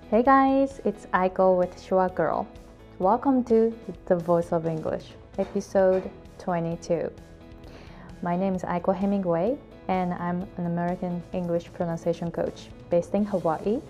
Hey guys, it's Aiko with Shua Girl. Welcome to The Voice of English, episode 22. My name is Aiko Hemingway, and I'm an American English pronunciation coach based in Hawaii.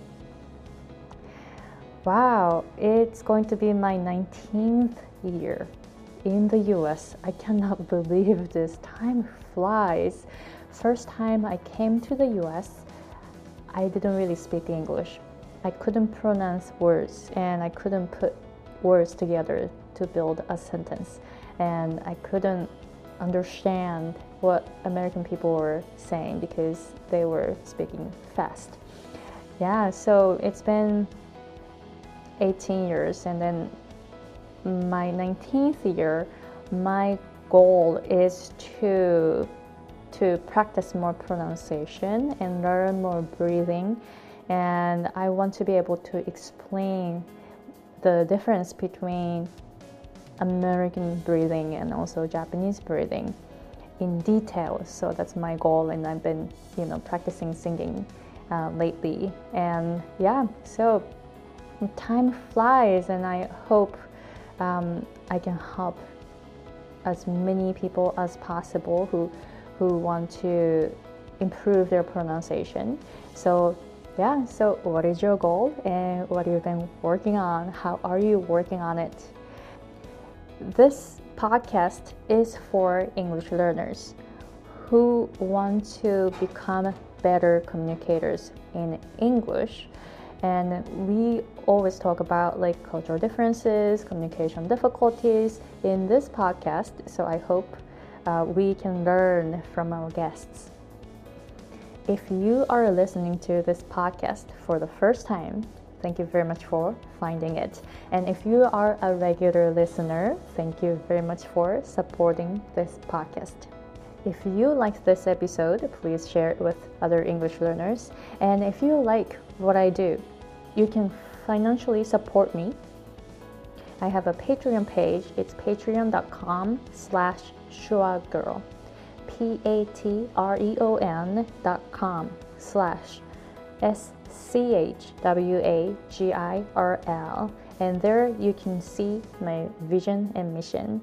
Wow, it's going to be my 19th year in the US. I cannot believe this. Time flies. First time I came to the US, I didn't really speak English. I couldn't pronounce words and I couldn't put words together to build a sentence. And I couldn't understand what American people were saying because they were speaking fast. Yeah, so it's been 18 years, and then my 19th year, my goal is to practice more pronunciation and learn more breathing. And I want to be able to explain the difference between American breathing and also Japanese breathing in detail. So that's my goal, and I've been, practicing singing lately. And yeah, so time flies, and I hope I can help as many people as possible who want to improve their pronunciation. So what is your goal and what have you been working on? How are you working on it? This podcast is for English learners who want to become better communicators in English. And we always talk about cultural differences, communication difficulties in this podcast. So I hope we can learn from our guests. If you are listening to this podcast for the first time, thank you very much for finding it. And if you are a regular listener, thank you very much for supporting this podcast. If you like this episode, please share it with other English learners. And if you like what I do, you can financially support me. I have a Patreon page. It's patreon.com/shuagirl. patreon.com/SCHWAGIRL, and there you can see my vision and mission.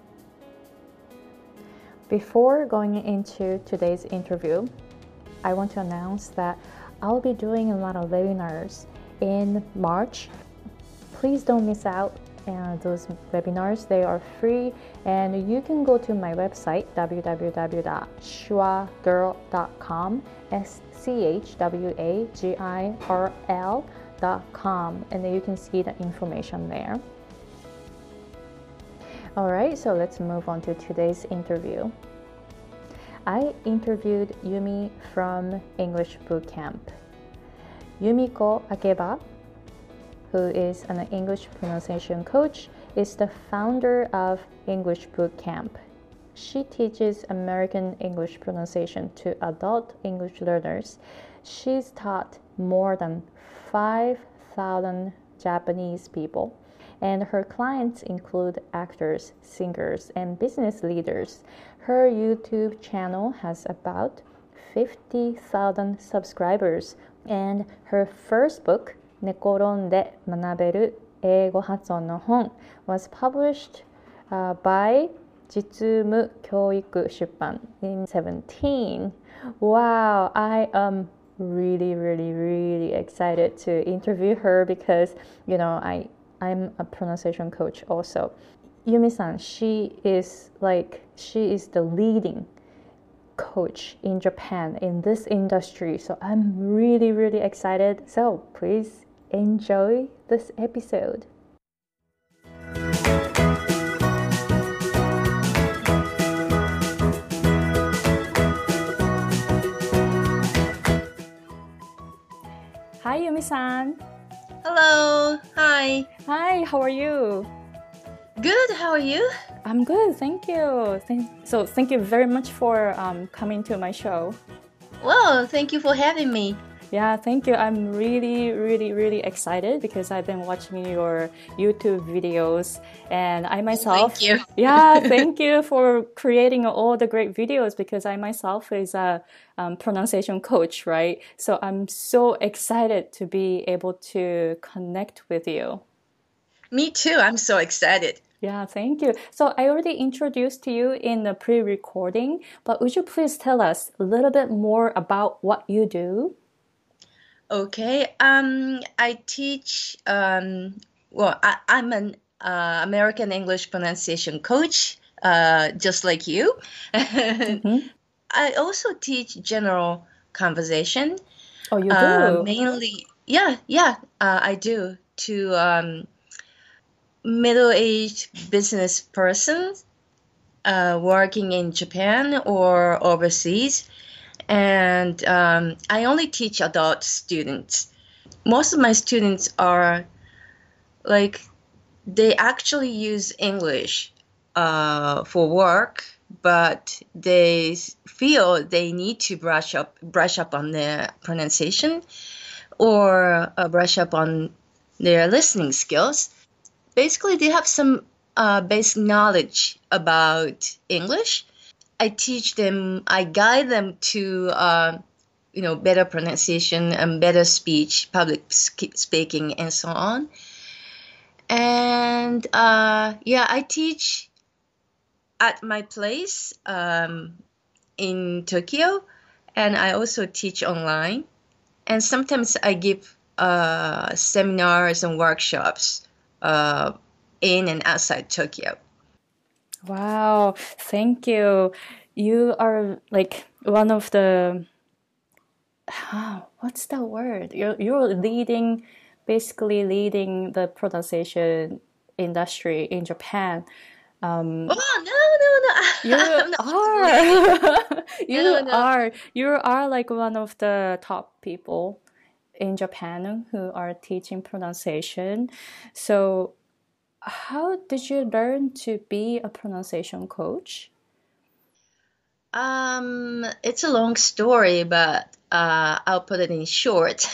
Before going into today's interview, I want to announce that I'll be doing a lot of webinars in March. Please don't miss out. And those webinars, they are free, and you can go to my website www.shuagirl.com, SCHWAGIRL.com, and you can see the information there. Alright, so let's move on to today's interview. I interviewed Yumi from English Bootcamp. Yumiko Akeba, who is an English pronunciation coach, is the founder of English Bootcamp. She teaches American English pronunciation to adult English learners. She's taught more than 5,000 Japanese people, and her clients include actors, singers, and business leaders. Her YouTube channel has about 50,000 subscribers, and her first book, 寝転んで学べる英語発音の本 was published by 実務教育出版 in 2017. Wow, I am really excited to interview her because, I'm a pronunciation coach also. Yumi-san, she is the leading coach in Japan in this industry. So I'm really excited. So please enjoy this episode. Hi, Yumi-san. Hello. Hi. Hi, how are you? Good. How are you? I'm good, thank you. Thank you very much for coming to my show. Well, thank you for having me. Yeah, thank you. I'm really, really, really excited because I've been watching your YouTube videos and I Thank myself, you. yeah, thank you for creating all the great videos because I myself is a pronunciation coach, right? So I'm so excited to be able to connect with you. Me too. I'm so excited. Yeah, thank you. So I already introduced you in the pre-recording, but would you please tell us a little bit more about what you do? Okay. I teach. I'm an American English pronunciation coach, just like you. Mm-hmm. I also teach general conversation, Oh, you do? mainly. Yeah, I do to middle-aged business persons working in Japan or overseas. And I only teach adult students. Most of my students are like, they actually use English for work, but they feel they need to brush up on their pronunciation or brush up on their listening skills. Basically, they have some basic knowledge about English. I teach them, I guide them to, better pronunciation and better speech, public speaking, and so on. And yeah, I teach at my place in Tokyo, and I also teach online. And sometimes I give seminars and workshops in and outside Tokyo. Wow, thank you. You are like one of the what's the word? You're leading, basically leading the pronunciation industry in Japan. Oh, no, You no, no. I'm not leading. are. No, no. You are like one of the top people in Japan who are teaching pronunciation. So, how did you learn to be a pronunciation coach? It's a long story, but I'll put it in short.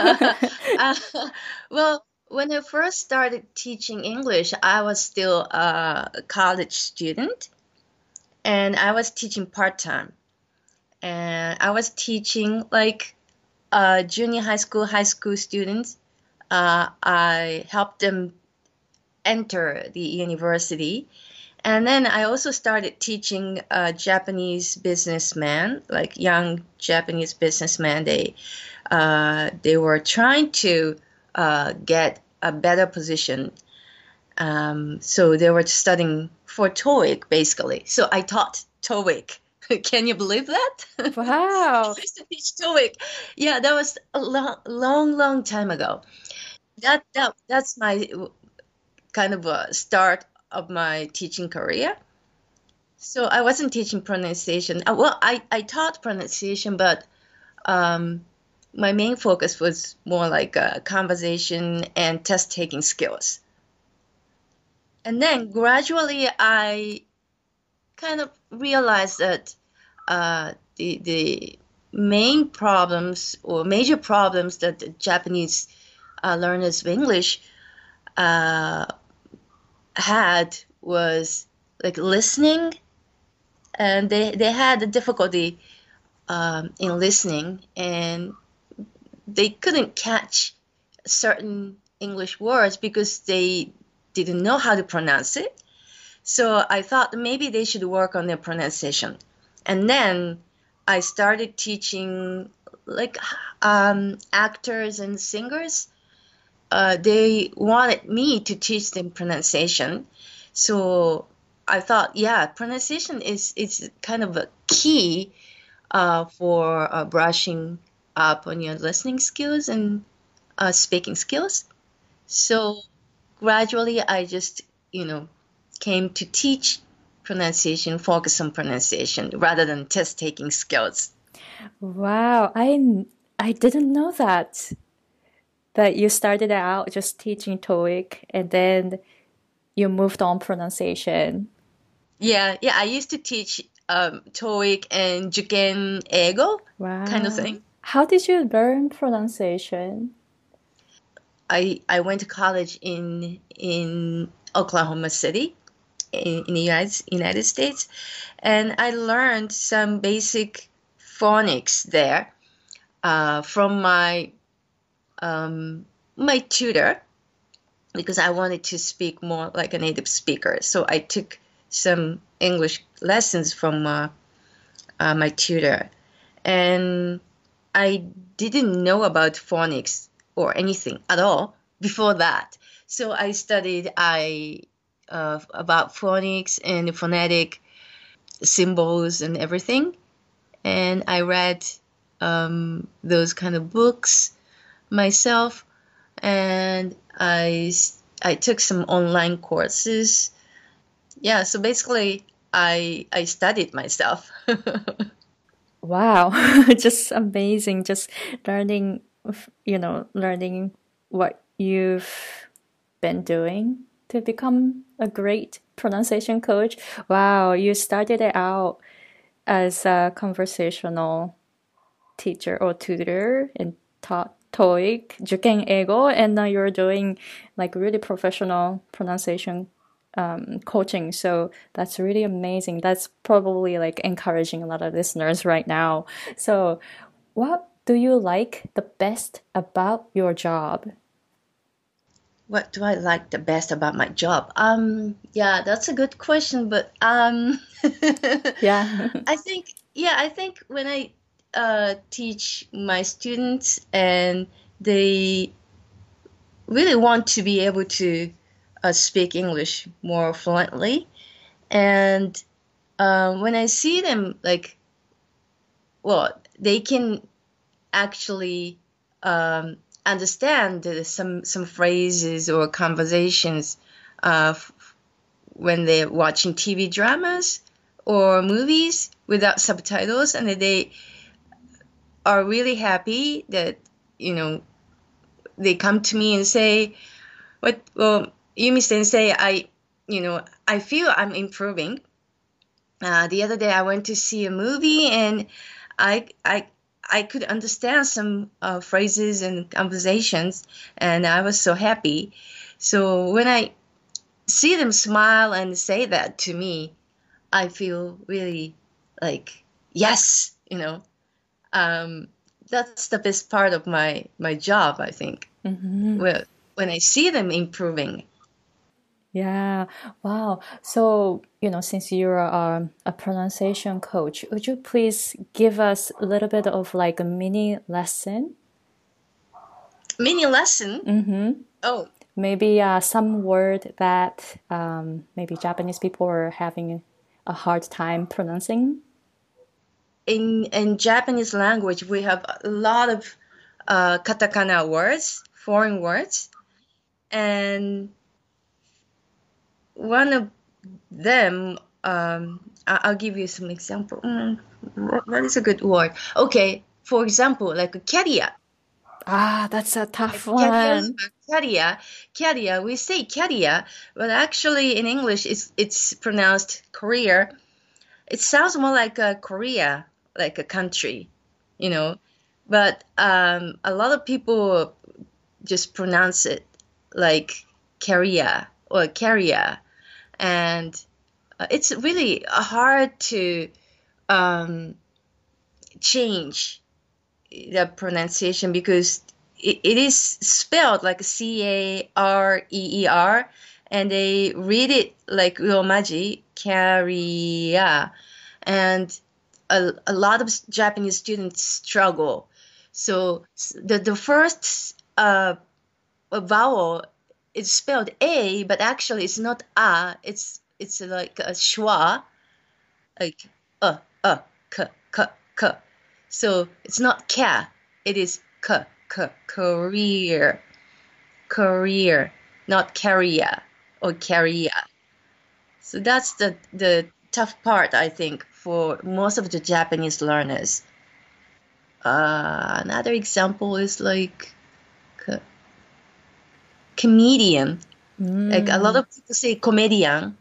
Well, when I first started teaching English, I was still a college student, and I was teaching part-time. And I was teaching like junior high school students. I helped them enter the university. And then I also started teaching Japanese businessmen, like young Japanese businessmen. They were trying to get a better position. So they were studying for TOEIC, basically. So I taught TOEIC. Can you believe that? I Wow. used to teach TOEIC. Yeah, that was a long time ago. That's my kind of a start of my teaching career. So I wasn't teaching pronunciation. Well, I taught pronunciation, but um, my main focus was more like conversation and test taking skills. And then gradually I kind of realized that the main problems or major problems that the Japanese learners of English uh, had was like listening, and they had a difficulty in listening, and they couldn't catch certain English words because they didn't know how to pronounce it. So I thought maybe they should work on their pronunciation. And then I started teaching like actors and singers. They wanted me to teach them pronunciation. So I thought, yeah, pronunciation is kind of a key for brushing up on your listening skills and speaking skills. So gradually, I just, came to teach pronunciation, focus on pronunciation rather than test taking skills. Wow, I didn't know that you started out just teaching TOEIC and then you moved on pronunciation. Yeah, I used to teach TOEIC and Juken Ego kind of Wow. thing. How did you learn pronunciation? I went to college in Oklahoma City in the United States, and I learned some basic phonics there from my tutor, because I wanted to speak more like a native speaker. So I took some English lessons from my tutor, and I didn't know about phonics or anything at all before that. So I studied about phonics and phonetic symbols and everything, and I read those kind of books myself, and I took some online courses. Yeah, so basically I studied myself. Wow, just amazing. Just learning, learning what you've been doing to become a great pronunciation coach. Wow, you started it out as a conversational teacher or tutor and taught TOEIC, 주갱애고, and now you're doing like really professional pronunciation coaching. So that's really amazing. That's probably like encouraging a lot of listeners right now. So, what do you like the best about your job? What do I like the best about my job? Yeah, that's a good question, but Yeah. I think when I teach my students and they really want to be able to speak English more fluently, and when I see them, like, well, they can actually understand some phrases or conversations when they're watching TV dramas or movies without subtitles, and they are really happy that, they come to me and say, well, Yumi Sensei, I feel I'm improving. The other day I went to see a movie, and I could understand some phrases and conversations, and I was so happy. So when I see them smile and say that to me, I feel really like, yes, that's the best part of my job, I think. Well, when I see them improving. Yeah. Wow. So, since you're a pronunciation coach, would you please give us a little bit of like a mini lesson? Mini lesson? Oh, Maybe some word that maybe Japanese people are having a hard time pronouncing. in Japanese language, we have a lot of katakana words, foreign words, and one of them, I'll give you some example. What is a good word? Okay, for example, like a carrier. Ah, that's a tough Carrier, one. carrier. We say carrier, but actually in English, it's pronounced career. It sounds more like a Korea, like a country, But a lot of people just pronounce it like carrier or carrier, and it's really hard to change the pronunciation, because it is spelled like Career, and they read it like Romaji, carrier, and a lot of Japanese students struggle. So the first vowel is spelled A, but actually it's not a. It's like a schwa, like k k k. So it's not ka. It is k k, career, not carrier or carrier. So that's the tough part, I think, for most of the Japanese learners. Another example is like comedian. Like a lot of people say comedian,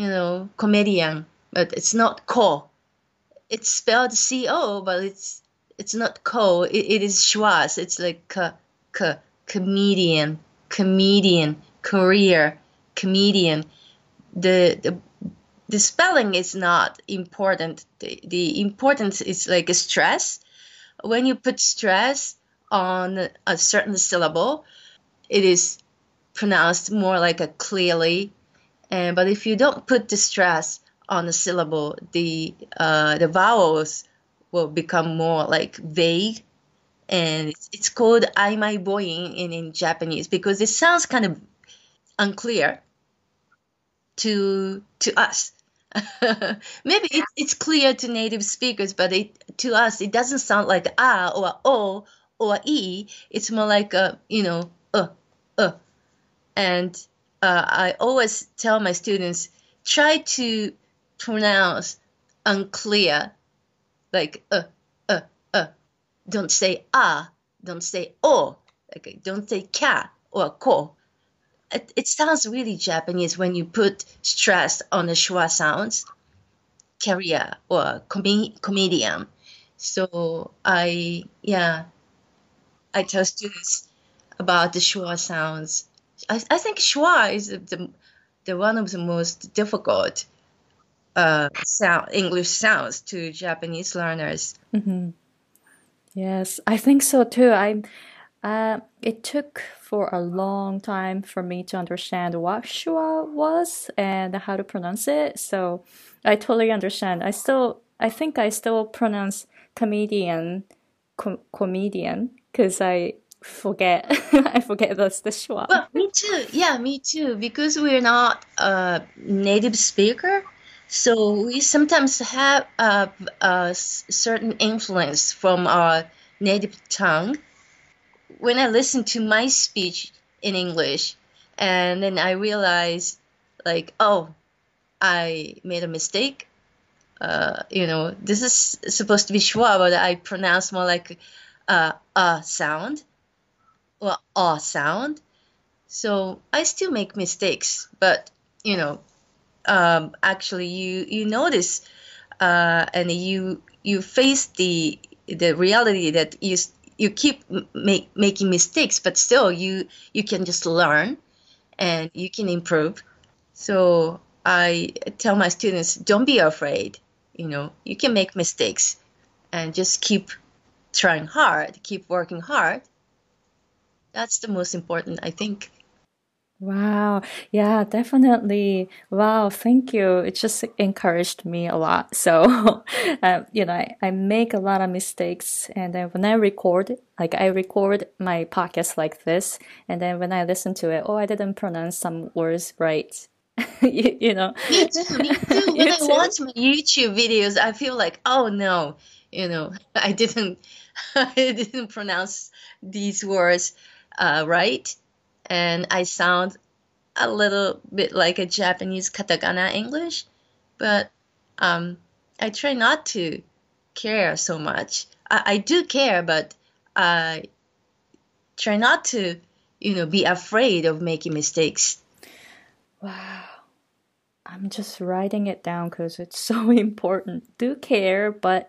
comedian, but it's not ko. It's spelled co, but It's not ko. It is schwa. So it's like comedian, career, comedian. The spelling is not important. The importance is like a stress. When you put stress on a certain syllable, it is pronounced more like a clearly. But if you don't put the stress on the syllable, the vowels will become more like vague. And it's called aimai boin in Japanese because it sounds kind of unclear to us. Maybe it's clear to native speakers, but to us it doesn't sound like ah or o or e. It's more like and I always tell my students, try to pronounce unclear, like don't say ah, don't say o, like don't say ka or ko. It sounds really Japanese when you put stress on the schwa sounds, career or comedian. So I tell students about the schwa sounds. I think schwa is the one of the most difficult English sounds to Japanese learners. Mm-hmm. Yes, I think so too. It took for a long time for me to understand what schwa was and how to pronounce it. So I totally understand. I think I still pronounce comedian, comedian, because I forget, I forget that's the schwa. Well, me too. Yeah, me too. Because we're not a native speaker, so we sometimes have a certain influence from our native tongue. When I listen to my speech in English, and then I realize, like, oh, I made a mistake. This is supposed to be schwa, but I pronounce more like a sound or a sound. So I still make mistakes, but actually you notice and you face the reality that you keep making mistakes, but still you can just learn and you can improve. So I tell my students, don't be afraid. You can make mistakes and just keep trying hard, keep working hard. That's the most important, I think. Wow. Yeah, definitely. Wow. Thank you. It just encouraged me a lot. So, I make a lot of mistakes. And then when I record, like I record my podcast like this. And then when I listen to it, oh, I didn't pronounce some words right. you know. Me too, me too. When I watch my YouTube videos, I feel like, oh no, I didn't pronounce these words right. And I sound a little bit like a Japanese katakana English, but I try not to care so much. I do care, but I try not to, be afraid of making mistakes. Wow. I'm just writing it down because it's so important. Do care, but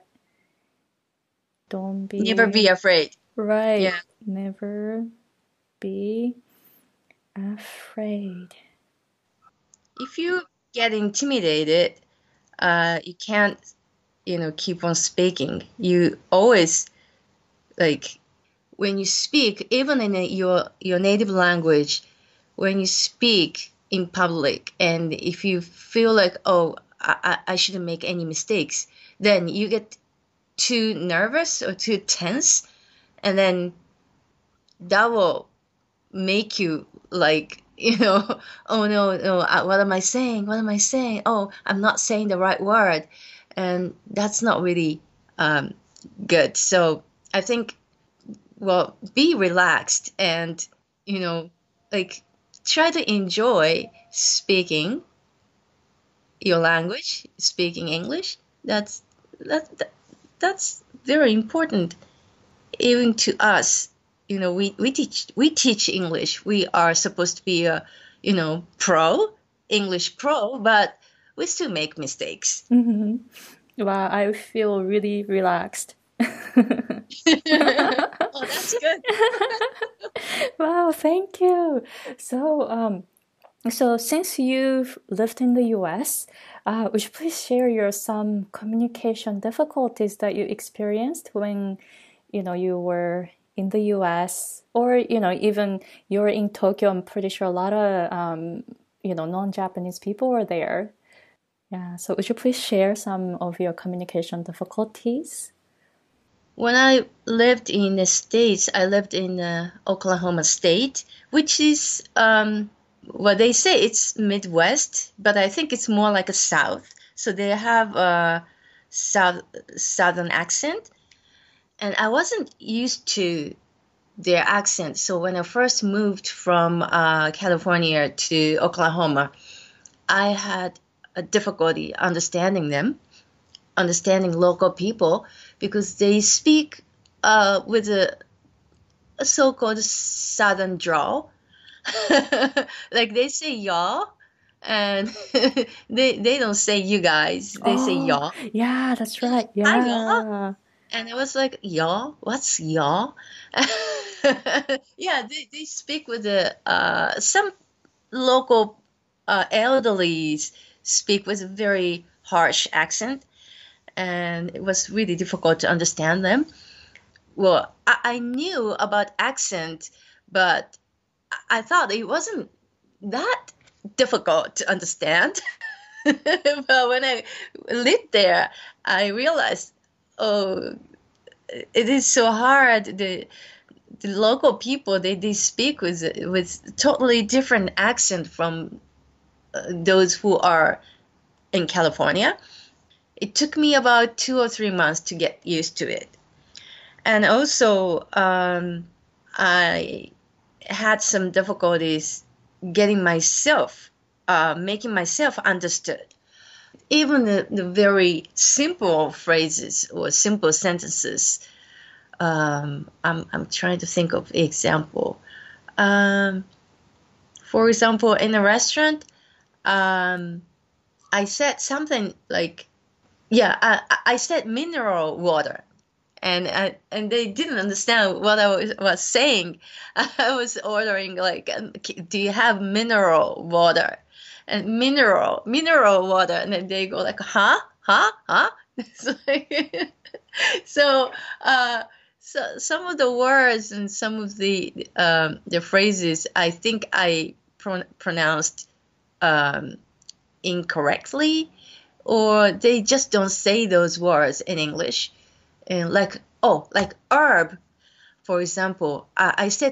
don't be... Never be afraid. Right. Yeah. Never be afraid. If you get intimidated, you can't, keep on speaking. You always, like, when you speak, even in your native language, when you speak in public, and if you feel like, oh, I shouldn't make any mistakes, then you get too nervous or too tense, and then that will make you like, oh no, what am I saying? What am I saying? Oh, I'm not saying the right word. And that's not really good. So I think, well, be relaxed and, like try to enjoy speaking your language, speaking English. That's very important, even to us. We teach English. We are supposed to be a, English pro, but we still make mistakes. Mm-hmm. Wow, I feel really relaxed Oh, that's good. Wow, thank you. So, so since you've lived in the US, would you please share your some communication difficulties that you experienced when, you were in the US, or, even you're in Tokyo? I'm pretty sure a lot of, non-Japanese people were there. Yeah. So would you please share some of your communication difficulties? When I lived in the States, I lived in Oklahoma State, which is what they say it's Midwest, but I think it's more like a South. So they have a Southern accent, and I wasn't used to their accent. So when I first moved from California to Oklahoma, I had a difficulty understanding them, understanding local people, because they speak with a so-called southern drawl. Like they say y'all, and they don't say you guys, they say Oh, y'all. yeah, that's right. Hi y'all. Yeah. And I was like, y'all? What's y'all? Yeah, they speak with the some local elderlies speak with a very harsh accent, and it was really difficult to understand them. Well, I knew about accent, but I thought it wasn't that difficult to understand. But when I lived there, I realized, oh, it is so hard. The local people, they speak with totally different accent from those who are in California. It took me about 2 or 3 months to get used to it. And also, I had some difficulties getting myself, making myself understood. Even the very simple phrases or simple sentences. I'm trying to think of example. Um, for example, in a restaurant, I said something like, yeah, I said mineral water, and they didn't understand what I was saying. I was ordering like, do you have mineral water? And mineral water, and then they go like, huh, huh, huh. It's like, so, so some of the words and some of the phrases, I think I pronounced um, incorrectly, or they just don't say those words in English. And like, oh, like herb, for example, I said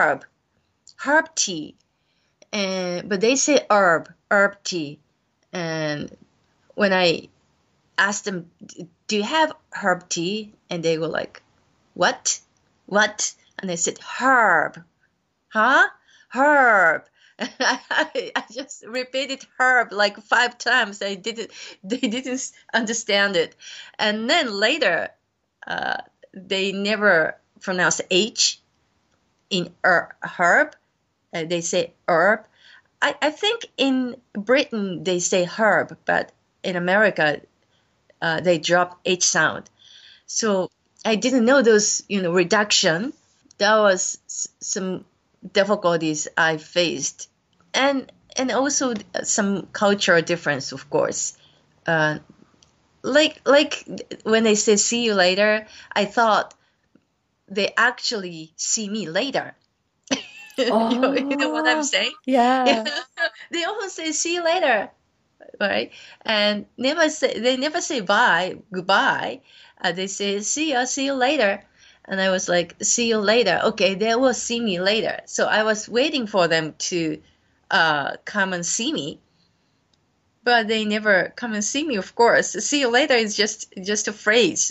herb tea, and but they say herb tea. And when I asked them, do you have herb tea? And they were like, what? What? And I said, herb. Huh? Herb. And I just repeated herb like 5 times. They didn't understand it. And then later, uh, they never pronounce H in herb. They say herb. I think in Britain they say herb, but in America they drop H sound. So I didn't know those, reduction. That was some difficulties I faced, and also some cultural difference, of course. Uh, like when they say "see you later," I thought they actually see me later. You know what I'm Oh, saying? Yeah. yeah. They often say "see you later," right? And they never say bye, goodbye. They say see you later. And I was like, see you later. Okay, they will see me later. So I was waiting for them to come and see me, but they never come and see me. Of course, see you later is just a phrase.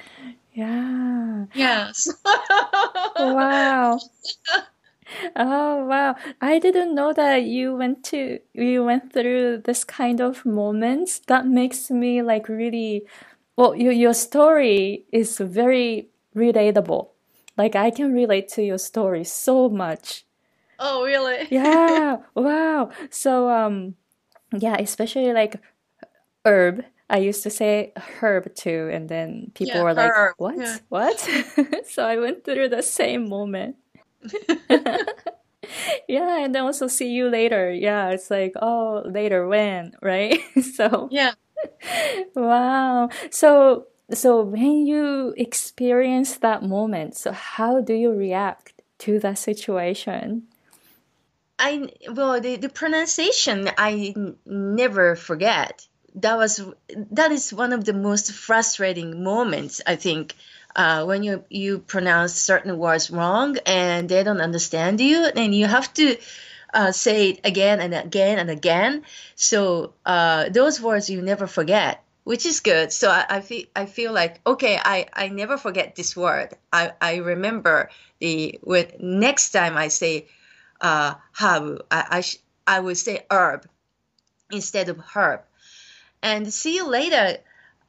Yeah. Yes. Wow. Oh, wow. I didn't know that you went through this kind of moments. That makes me like really, well, your story is very relatable. Like I can relate to your story so much. Oh, really? Yeah. Wow. So, yeah, especially like herb. I used to say herb too, and then people Yeah, were like, her. Yeah. "What? What?" So I went through the same moment. Yeah, and then also see you later. Yeah, it's like, oh, later when, right? So, Yeah. wow. So when you experience that moment, so how do you react to that situation? Well, the pronunciation never forget. That is one of the most frustrating moments, I think, when you pronounce certain words wrong and they don't understand you, and you have to say it again and again and again. So those words you never forget, which is good. So I feel like, okay, I never forget this word. I remember the when next time I say herb, I would say herb instead of herb. And see you later.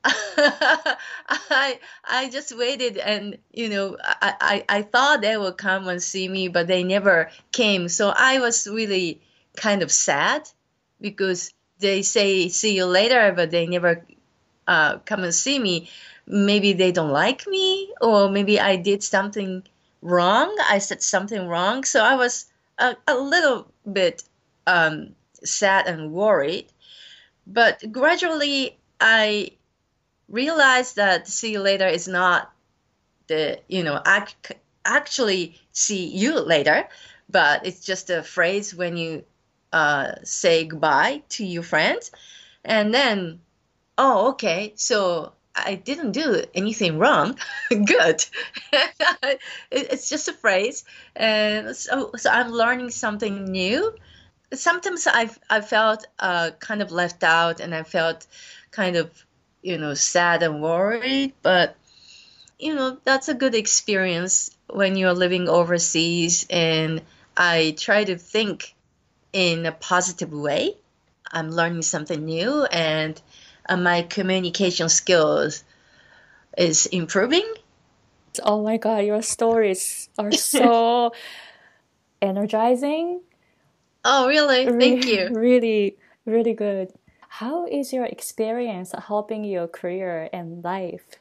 I just waited, and I thought they would come and see me, but they never came. So I was really kind of sad because they say see you later, but they never come and see me. Maybe they don't like me, or maybe I did something wrong. I said something wrong. So I was a little bit sad and worried. But gradually, I realized that see you later is not the, actually see you later, but it's just a phrase when you say goodbye to your friends. And then, oh, okay, so I didn't do anything wrong. Good. It's just a phrase. And so I'm learning something new. Sometimes I felt kind of left out, and I felt kind of, sad and worried. But that's a good experience when you're living overseas. And I try to think in a positive way. I'm learning something new, and my communication skills is improving. Oh my God, your stories are so energizing. Oh, really? Thank you. Really, really good. How is your experience helping your career and life?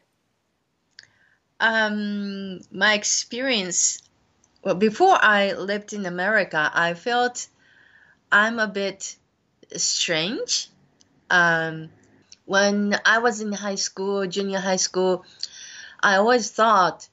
My experience, well, before I lived in America, I felt I'm a bit strange. Um, when I was in high school, junior high school, I always thought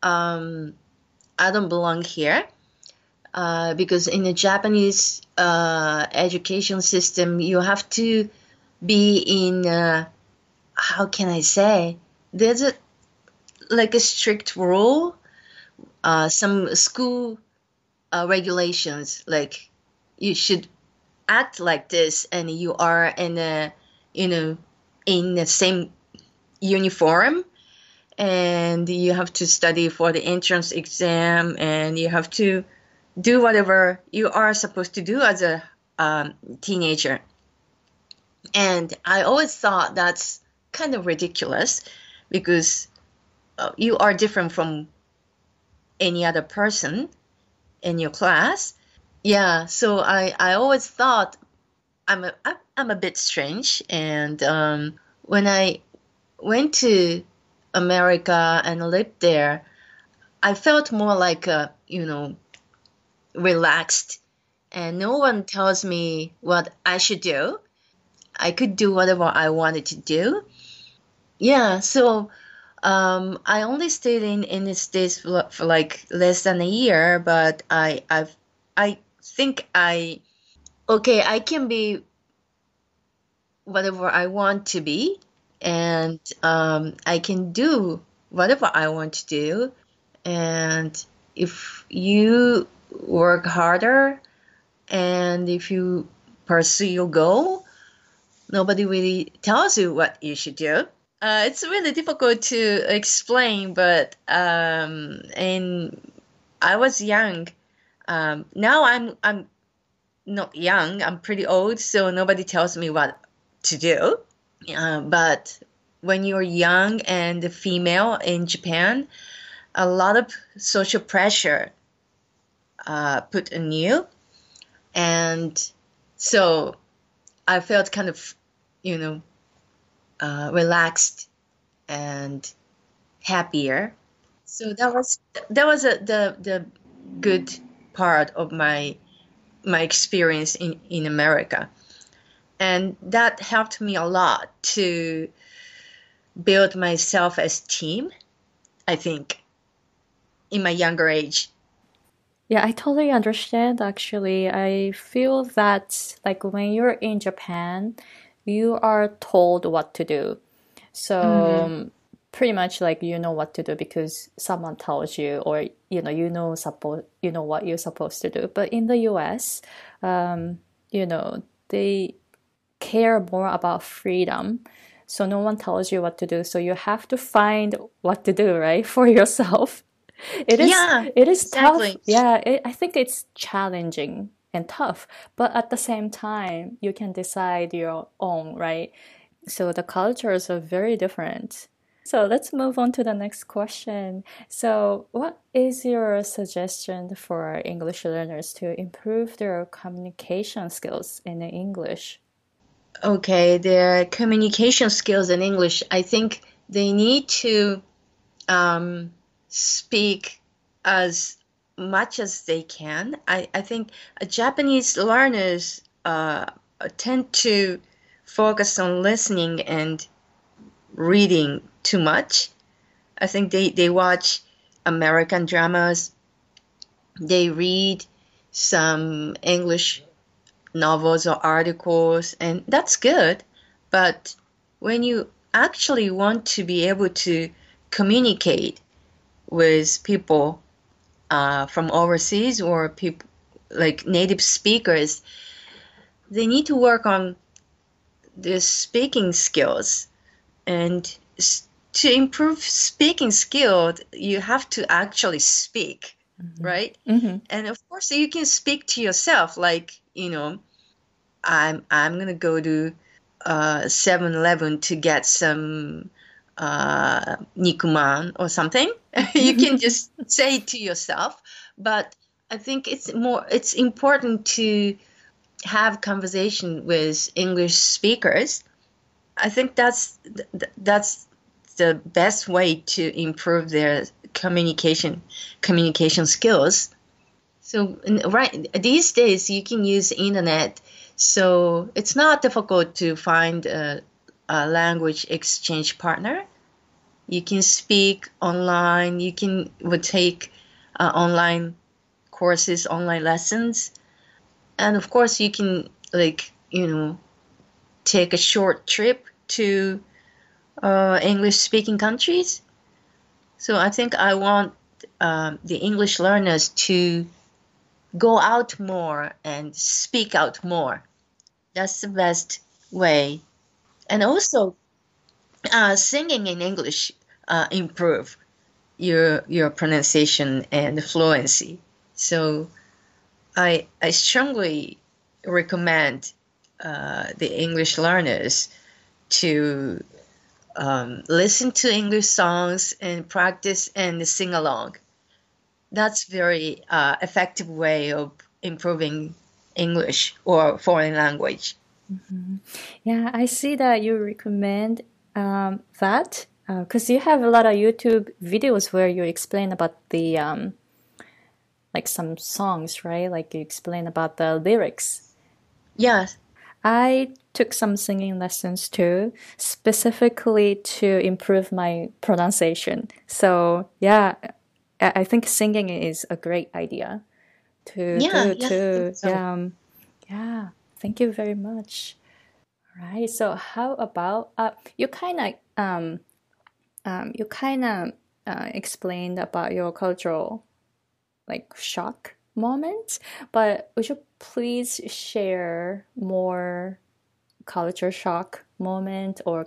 I don't belong here, because in the Japanese education system, you have to be in, how can I say, there's a like a strict rule, some school regulations, like you should act like this, and you are in a, you know in the same uniform, and you have to study for the entrance exam, and you have to do whatever you are supposed to do as a teenager. And I always thought that's kind of ridiculous, because you are different from any other person in your class. Yeah, so I always thought I'm a bit strange. And when I went to America and lived there, I felt more like relaxed, and no one tells me what I should do. I could do whatever I wanted to do. Yeah, so I only stayed in the States for like less than a year, but I think I can be whatever I want to be, and I can do whatever I want to do. And if you work harder, and if you pursue your goal, nobody really tells you what you should do. It's really difficult to explain, but and I was young. Now I'm not young. I'm pretty old, so nobody tells me what to do. But when you're young and a female in Japan, a lot of social pressure put on you, and so I felt kind of, you know, relaxed and happier. So the good part of my experience in America, and that helped me a lot to build my self-esteem, I think, in my younger age. Yeah, I totally understand actually. I feel that like when you're in Japan, you are told what to do. So Mm-hmm. pretty much like you know what to do because someone tells you or you know what you're supposed to do. But in the US, they care more about freedom. So no one tells you what to do. So you have to find what to do, right, for yourself. It is Yeah, it is tough. exactly. Yeah, I think it's challenging and tough, but at the same time, you can decide your own, right? So the cultures are very different. So let's move on to the next question. So, what is your suggestion for English learners to improve their communication skills in English? Okay, their communication skills in English, I think they need to um, speak as much as they can. I think Japanese learners tend to focus on listening and reading too much. I think they watch American dramas, they read some English novels or articles, and that's good. But when you actually want to be able to communicate with people from overseas or people like native speakers, they need to work on their speaking skills. And to improve speaking skill, you have to actually speak, right? Mm-hmm. And of course, you can speak to yourself, like, I'm gonna go to 7-Eleven to get some nikuman or something. You can just say it to yourself, but I think it's important to have conversation with English speakers. I think that's the best way to improve their communication skills. So right these days you can use internet, so it's not difficult to find a language exchange partner. You can speak online. You can would take online courses, online lessons, and of course you can take a short trip to English speaking countries. So I think I want the English learners to go out more and speak out more. That's the best way. And also, singing in English improve your pronunciation and fluency. So I strongly recommend the English learners to listen to English songs and practice and sing along. That's very effective way of improving English or foreign language. Yeah, I see that you recommend that because you have a lot of YouTube videos where you explain about the like some songs, right? Like you explain about the lyrics. Yes. I took some singing lessons too, specifically to improve my pronunciation. So yeah, I think singing is a great idea to Yeah, do yeah, I think too. so. Yeah. Thank you very much. Right. So how about you kind of explained about your cultural like shock moment, but would you please share more culture shock moment or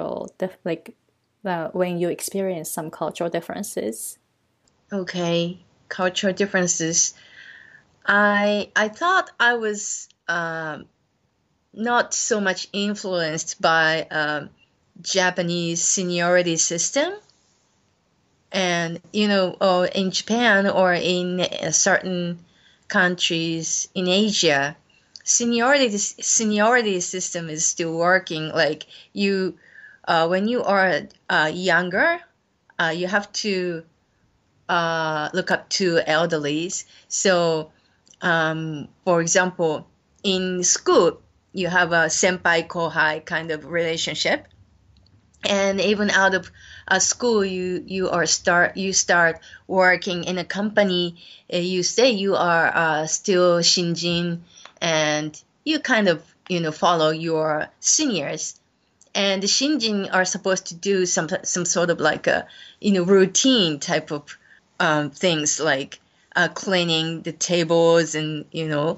when you experience some cultural differences? Okay, cultural differences. I thought I was not so much influenced by Japanese seniority system, and in Japan or in certain countries in Asia, seniority system is still working. Like you when you are younger, you have to look up to elderlies. So, for example, in school, you have a senpai kohai kind of relationship, and even out of school, you start working in a company. You say you are still shinjin, and you kind of follow your seniors. And the shinjin are supposed to do some sort of like a routine type of things, like cleaning the tables and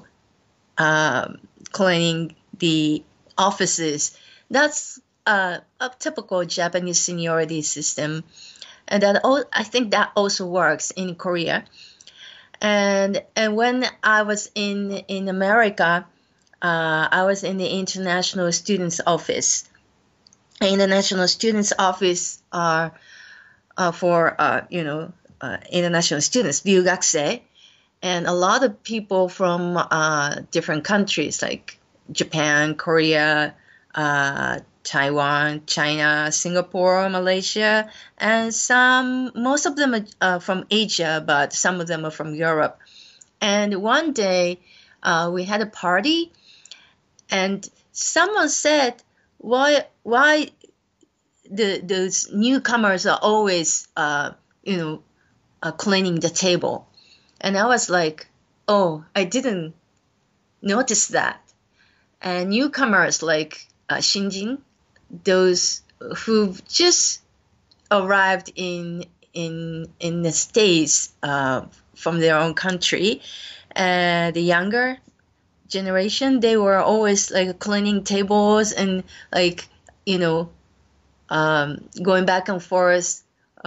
cleaning the offices. That's a typical Japanese seniority system, and I think that also works in Korea. And when I was in America, I was in the International Students Office. International Students Office are for international students, ryugakusei, and a lot of people from different countries like Japan, Korea, Taiwan, China, Singapore, Malaysia, and most of them are from Asia, but some of them are from Europe. And one day we had a party, and someone said, why those newcomers are always cleaning the table. And I was like, oh, I didn't notice that. And newcomers like Shinjin, those who've just arrived in the States from their own country, the younger generation, they were always like cleaning tables and like going back and forth.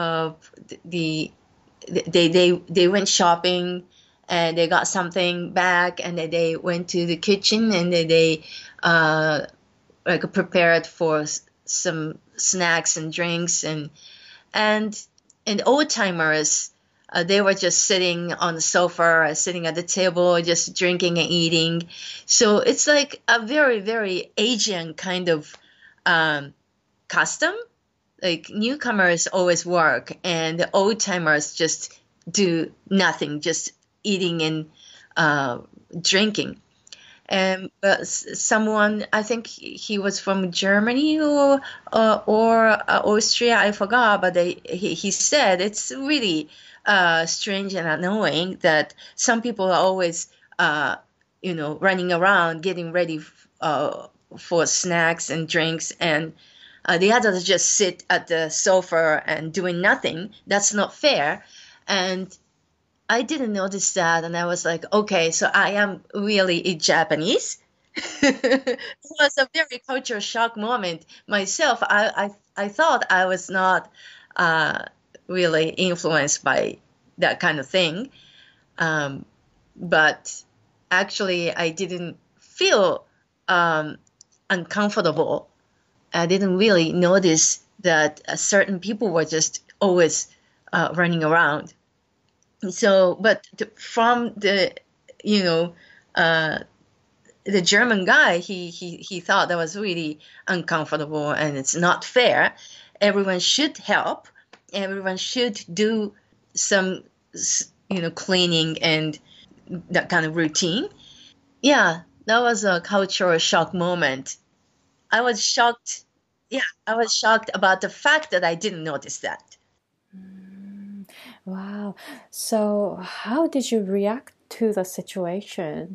They went shopping and they got something back, and then they went to the kitchen and they like prepared for some snacks and drinks, and old timers, they were just sitting on the sofa, sitting at the table, just drinking and eating. So it's like a very, very Asian kind of custom. Like newcomers always work, and the old timers just do nothing, just eating and drinking. And someone, I think he was from Germany or Austria, I forgot, but he said it's really strange and annoying that some people are always running around getting ready for snacks and drinks, and the others just sit at the sofa and doing nothing. That's not fair. And I didn't notice that, and I was like, okay, so I am really a Japanese. It was a very culture shock moment myself. I thought I was not really influenced by that kind of thing, but actually I didn't feel uncomfortable. I didn't really notice that certain people were just always running around. So, but from the German guy, he thought that was really uncomfortable and it's not fair. Everyone should help. Everyone should do some cleaning and that kind of routine. Yeah, that was a cultural shock moment. I was shocked. Yeah, I was shocked about the fact that I didn't notice that. Wow. So how did you react to the situation?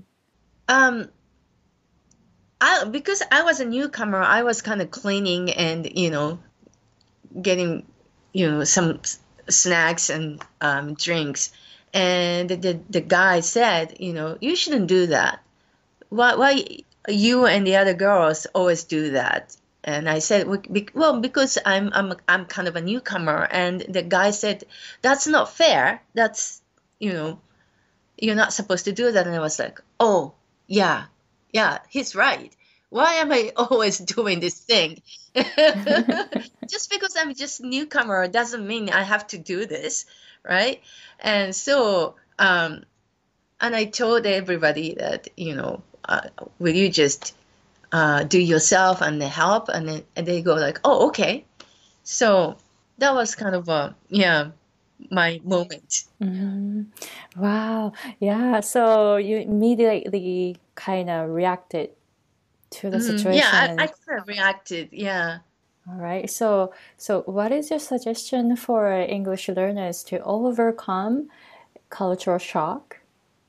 Because I was a newcomer, I was kind of cleaning and getting some snacks and drinks, and the guy said, you shouldn't do that. Why you and the other girls always do that? And I said, well, because I'm kind of a newcomer. And the guy said, that's not fair. That's you're not supposed to do that. And I was like, oh yeah, he's right. Why am I always doing this thing? Just because I'm just newcomer doesn't mean I have to do this, right? And so and I told everybody that will you just do yourself and they help, and they go like, oh, okay. So that was kind of my moment. Wow. Yeah. So you immediately kind of reacted to the Yeah, situation. I kind of reacted. Yeah. All right. So what is your suggestion for English learners to overcome cultural shock?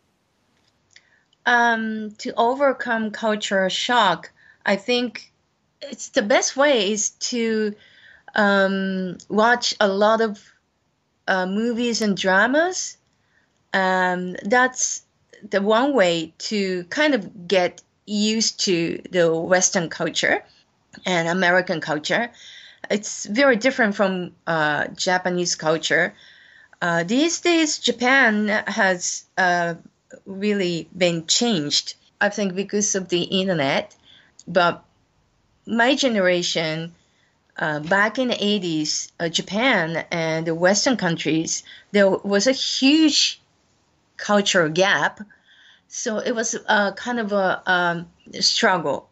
To overcome cultural shock, I think it's the best way is to watch a lot of movies and dramas. That's the one way to kind of get used to the Western culture and American culture. It's very different from Japanese culture. These days, Japan has really been changed, I think, because of the internet. But my generation, back in the 80s, Japan and the Western countries, there was a huge cultural gap. So it was kind of a struggle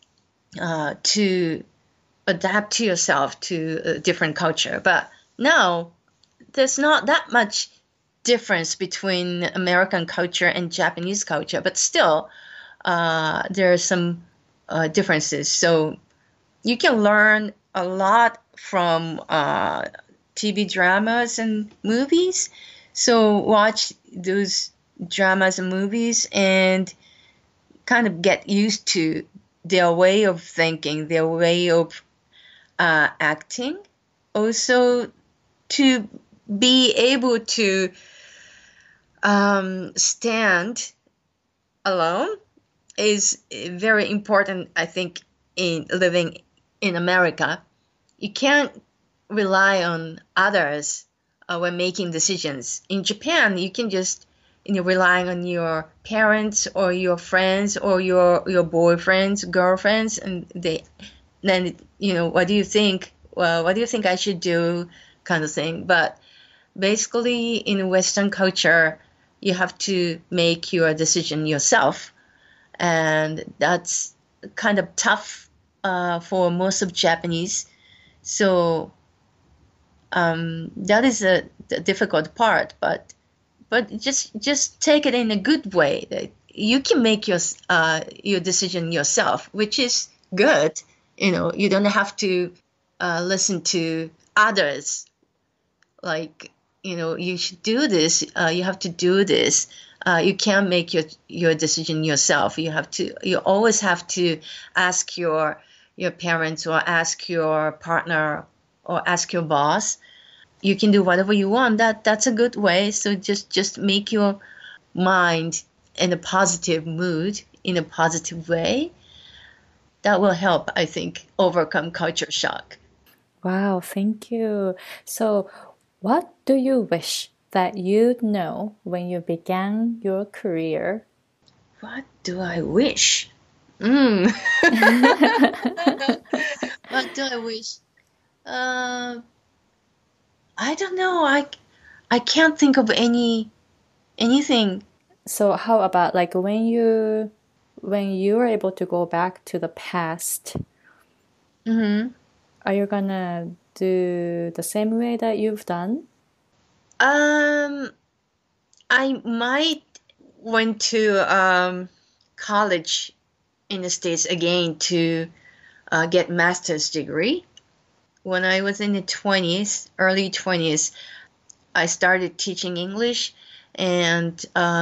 to adapt to yourself to a different culture. But now there's not that much difference between American culture and Japanese culture, but still there are some differences. So you can learn a lot from TV dramas and movies. So watch those dramas and movies and kind of get used to their way of thinking, their way of acting. Also, to be able to stand alone is very important, I think, in living in America. You can't rely on others when making decisions. In Japan, you can just rely on your parents or your friends or your boyfriends, girlfriends, and then what do you think? Well, what do you think I should do? Kind of thing. But basically, in Western culture, you have to make your decision yourself, and that's kind of tough for most of Japanese. So that is the difficult part, but just take it in a good way. That you can make your decision yourself, which is good. You don't have to listen to others. Like, you should do this. You have to do this. You can't make your decision yourself. You always have to ask your parents or ask your partner or ask your boss. You can do whatever you want. That's a good way. So just make your mind in a positive mood, in a positive way. That will help, I think, overcome culture shock. Wow, thank you. So, what do you wish that you'd know when you began your career? What do I wish? What do I wish? I don't know. I can't think of anything. So, how about like when you were able to go back to the past, are you gonna do the same way that you've done? I might went to college in the States again to get master's degree. When I was in the early 20s, I started teaching English, and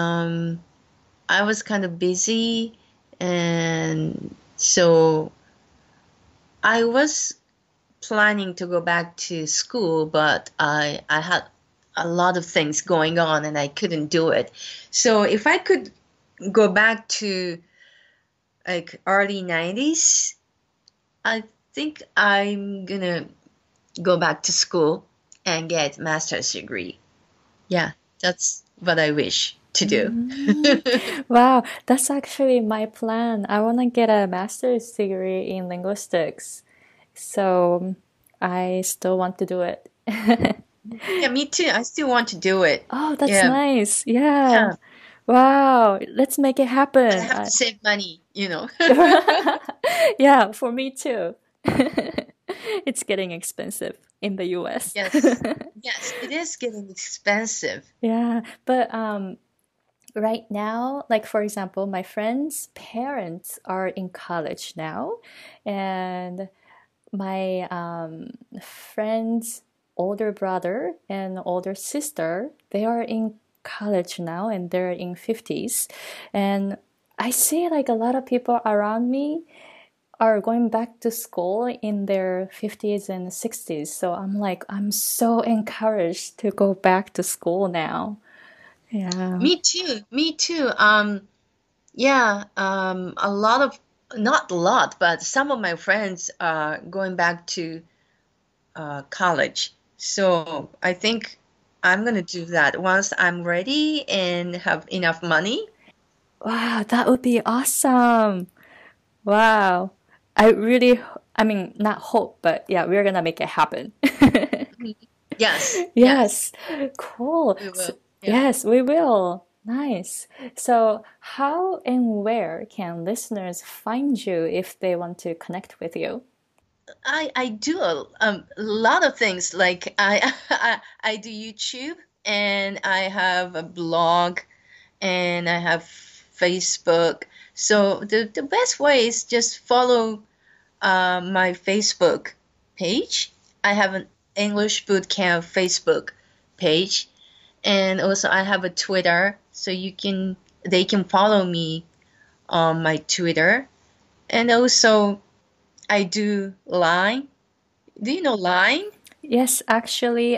I was kind of busy, and so I was planning to go back to school, but I had a lot of things going on and I couldn't do it. So if I could go back to like early 90s, I think I'm gonna go back to school and get master's degree. Yeah, that's what I wish to do. Wow, that's actually my plan. I want to get a master's degree in linguistics. So I still want to do it. Yeah, me too. I still want to do it. Oh, that's Yeah. nice. Yeah. Yeah. Wow, let's make it But I happen. have to save money. Yeah, for me too. It's getting expensive in the US. Yes. Yes, it is getting expensive. Yeah, but right now, like for example, my friends' parents are in college now, and my friend's older brother and older sister, they are in college now and they're in 50s. And I see like a lot of people around me are going back to school in their 50s and 60s. So I'm like, I'm so encouraged to go back to school now. Yeah. Me too. Me too. Yeah, a lot of, not a lot, but some of my friends are going back to college. So I think I'm gonna do that once I'm ready and have enough money. Wow, that would be awesome. Wow. I really, I mean, not hope, but yeah, we're gonna make it happen. Mhm. Yes, yes, Yes, cool. we So, will. Yeah. yes, we will. Nice. So, how and where can listeners find you if they want to connect with you? I do a lot of things. Like I, I do YouTube, and I have a blog, and I have Facebook. So the best way is just follow my Facebook page. I have an English Bootcamp Facebook page, and also I have a Twitter, so they can follow me on my Twitter, and also I do Line. Do you know Line? Yes, actually,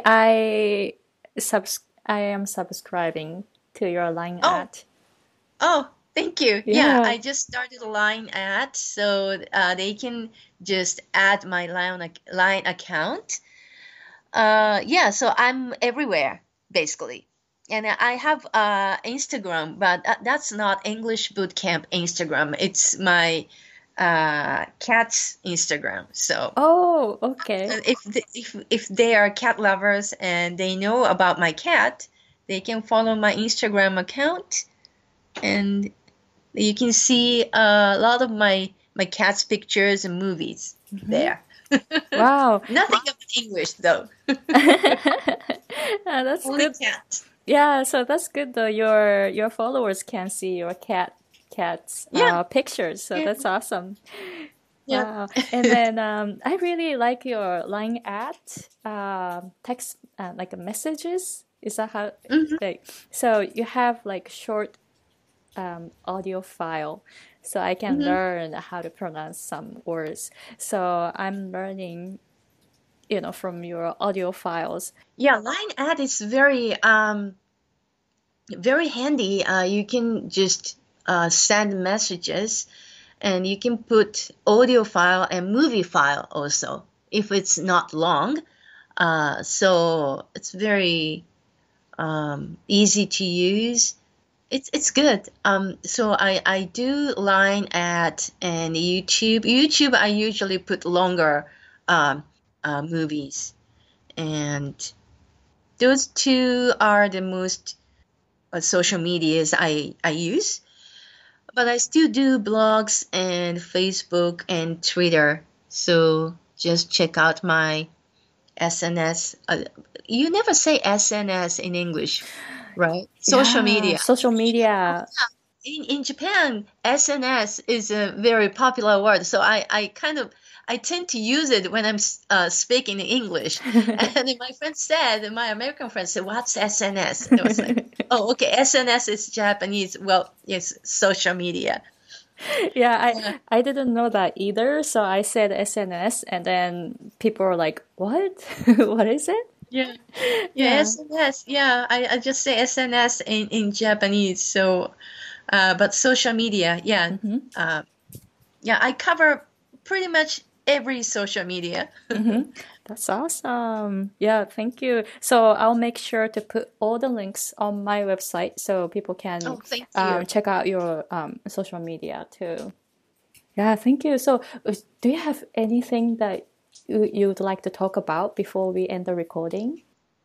I am subscribing to your Line Oh, ad. oh, thank you. Yeah, Yeah. I just started a Line ad, so they can just add my Line account. Yeah, so I'm everywhere basically. And I have Instagram, but that's not English Bootcamp Instagram. It's my cat's Instagram. So Oh, okay. if they are cat lovers and they know about my cat, they can follow my Instagram account, and you can see a lot of my cat's pictures and movies Hmm. there. Wow. Nothing about English though. That's Only good. cats. Yeah, so that's good though. Your followers can see your cat's Yeah, pictures. So yeah, that's awesome. yeah. Wow. And then I really like your line at text like messages. Is that how Mhm. like so you have like short audio file so I can Mhm. learn how to pronounce some words. So I'm learning, from your audio files. Yeah, Line Ad is very handy. You can just send messages, and you can put audio file and movie file also if it's not long. So it's very easy to use. It's good. So I do Line Ad and YouTube. YouTube, I usually put longer um, movies, and those two are the most social medias I use. But I still do blogs and Facebook and Twitter. So just check out my SNS. You never say SNS in English, right? Social Yeah, media. social media. In Japan, SNS is a very popular word, so I kind of I tend to use it when I'm speaking English. And then my American friend said, "What's SNS?" And I was like, "Oh, okay, SNS is Japanese. Well, it's social media." Yeah, Yeah, I didn't know that either. So I said SNS, and then people were like, "What? What is it?" yeah, yeah, Yeah. SNS. Yeah, I just say SNS in Japanese. So, but social media, yeah, Hmm. uh, yeah, I cover pretty much every social media. Hmm. That's awesome. Yeah, thank you. So I'll make sure to put all the links on my website so people can Oh, thank you. check out your social media too. Yeah, thank you. So, do you have anything that you'd like to talk about before we end the recording?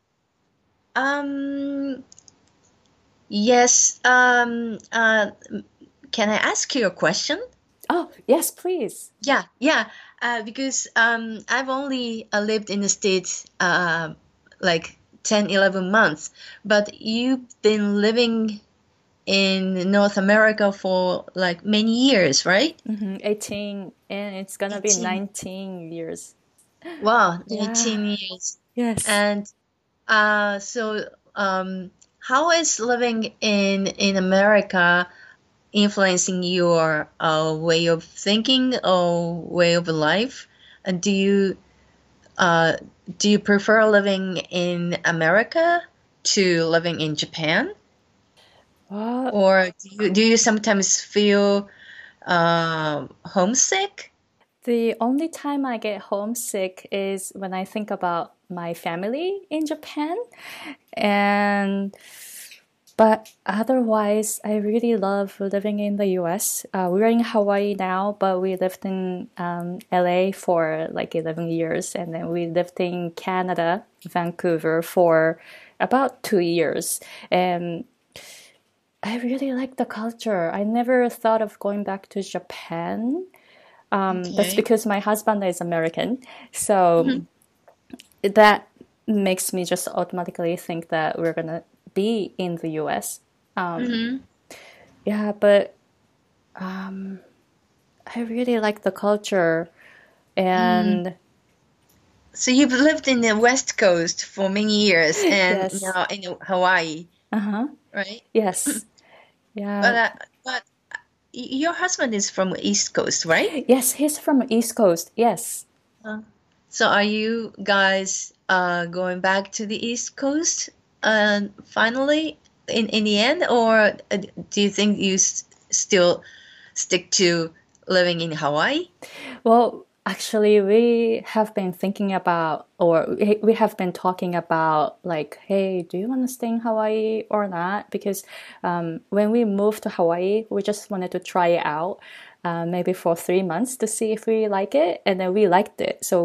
Um, yes. Can I ask you a question? Oh, yes, please. Yeah. Because I've only lived in the States like 10, 11 months, but you've been living in North America for like many years, right? 18, and it's gonna be 18. 19 years. Wow, Yeah, 19 years. yes. And so how is living in America influencing your way of thinking or way of life? And uh, do you prefer living in America to living in Japan? Well, Or do you sometimes feel homesick? the only time I get homesick is when I think about my family in Japan. And but otherwise, I really love living in the US. We're in Hawaii now, but we lived in LA for like 11 years. And then we lived in Canada, Vancouver, for about 2 years. And I really like the culture. I never thought of going back to Japan. That's Okay. because my husband is American. So that makes me just automatically think that we're going to be in the US. Mm-hmm. Yeah, but I really like the culture. Mm. And So you've lived in the West Coast for many years and yes, now in Hawaii, uh-huh, right? yes, But yeah. your husband is from East Coast, right? Yes, he's from East Coast. Yes. Uh, so are you guys going back to the East Coast finally in the end, or do you think you still stick to living in Hawaii? Well, actually, we have been thinking about, or we have been talking about, like, hey, do you want to stay in Hawaii or not? Because when we moved to Hawaii, we just wanted to try it out, maybe for 3 months to see if we like it, and then we liked it. So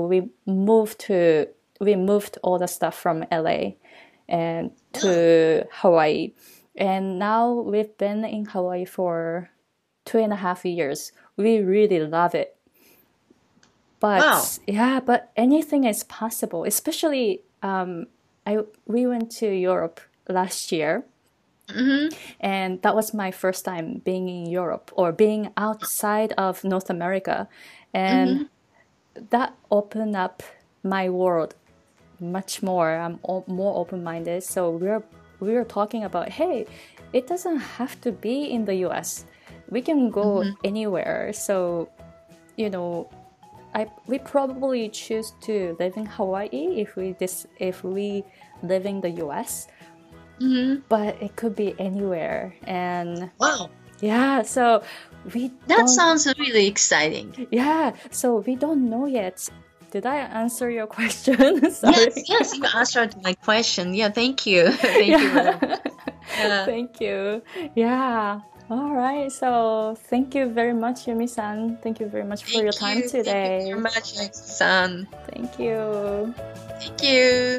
we moved all the stuff from LA and to Hawaii, and now we've been in Hawaii for 2.5 years. We really love it. Wow. But yeah, but anything is possible. Especially, we went to Europe last year, Mm-hmm. and that was my first time being in Europe or being outside of North America, and Mm-hmm. that opened up my world much more. I'm more open-minded. So we're talking about, hey, it doesn't have to be in the U.S. We can go Mm-hmm. anywhere. So you know, we probably choose to live in Hawaii if we live in the U.S. Mm-hmm. But it could be anywhere, and Wow. yeah, so we That don't. sounds really exciting. Yeah, so we don't know yet. Did I answer your question? Yes, Sorry. yes, you answered my question. Yeah, thank you. Thank you very much. Yeah. Yeah. Thank you. Yeah. All right. So thank you very much, Yumi-san. Thank you very much for your Thank time you. Thank you today. very much, San. Thank you. Thank you.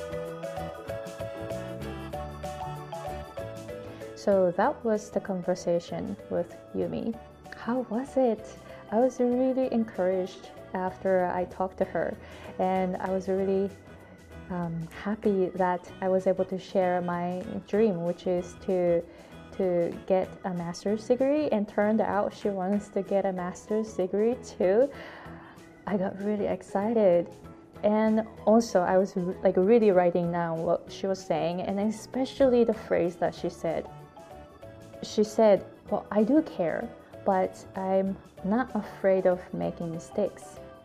So that was the conversation with Yumi. How was it? I was really encouraged after I talked to her, and I was really happy that I was able to share my dream, which is to get a master's degree. And turned out she wants to get a master's degree too. I got really excited. And also, I was like really writing down what she was saying, and especially the phrase that she said. She said, well, I do care, but I'm not afraid of making mistakes.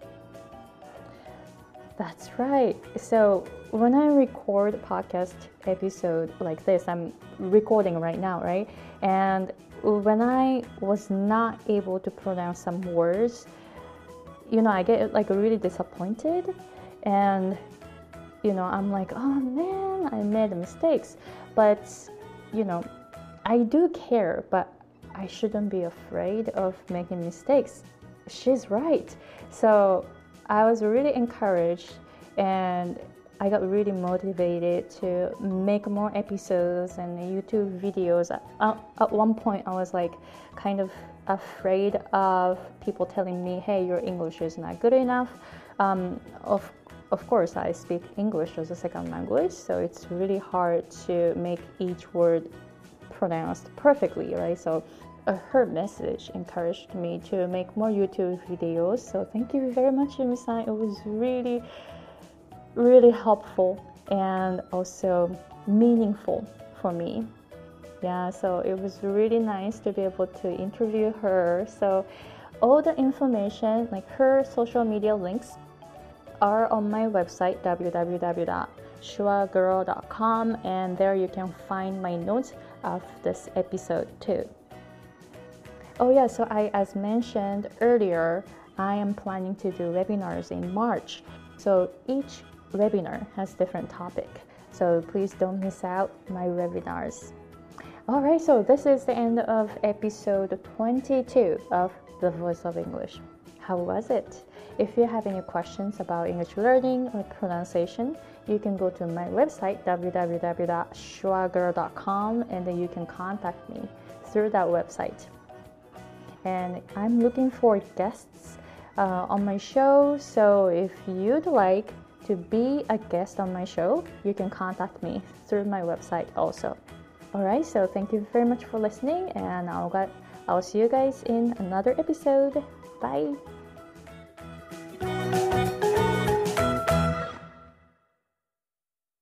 That's right. So when I record a podcast episode like this, I'm recording right now, right? And when I was not able to pronounce some words, I get like really disappointed, and I'm like, oh man, I made mistakes. But I do care, but I shouldn't be afraid of making mistakes. She's right. So I was really encouraged, and I got really motivated to make more episodes and YouTube videos. At one point, I was like kind of afraid of people telling me, hey, your English is not good enough. Of course, I speak English as a second language, so it's really hard to make each word pronounced perfectly, right? So her message encouraged me to make more YouTube videos. So thank you very much, Yumi-san. It was really, really helpful and also meaningful for me. Yeah, so it was really nice to be able to interview her. So all the information, like her social media links, are on my website www.shuagirl.com, and there you can find my notes of this episode too. Oh yeah, so as mentioned earlier, I am planning to do webinars in March. So each webinar has different topic. So please don't miss out my webinars. All right, so this is the end of episode 22 of The Voice of English. How was it? If you have any questions about English learning or pronunciation, you can go to my website www.shuagirl.com, and then you can contact me through that website. And I'm looking for guests on my show, so if you'd like to be a guest on my show, you can contact me through my website also. Alright, so thank you very much for listening, and I'll see you guys in another episode. Bye!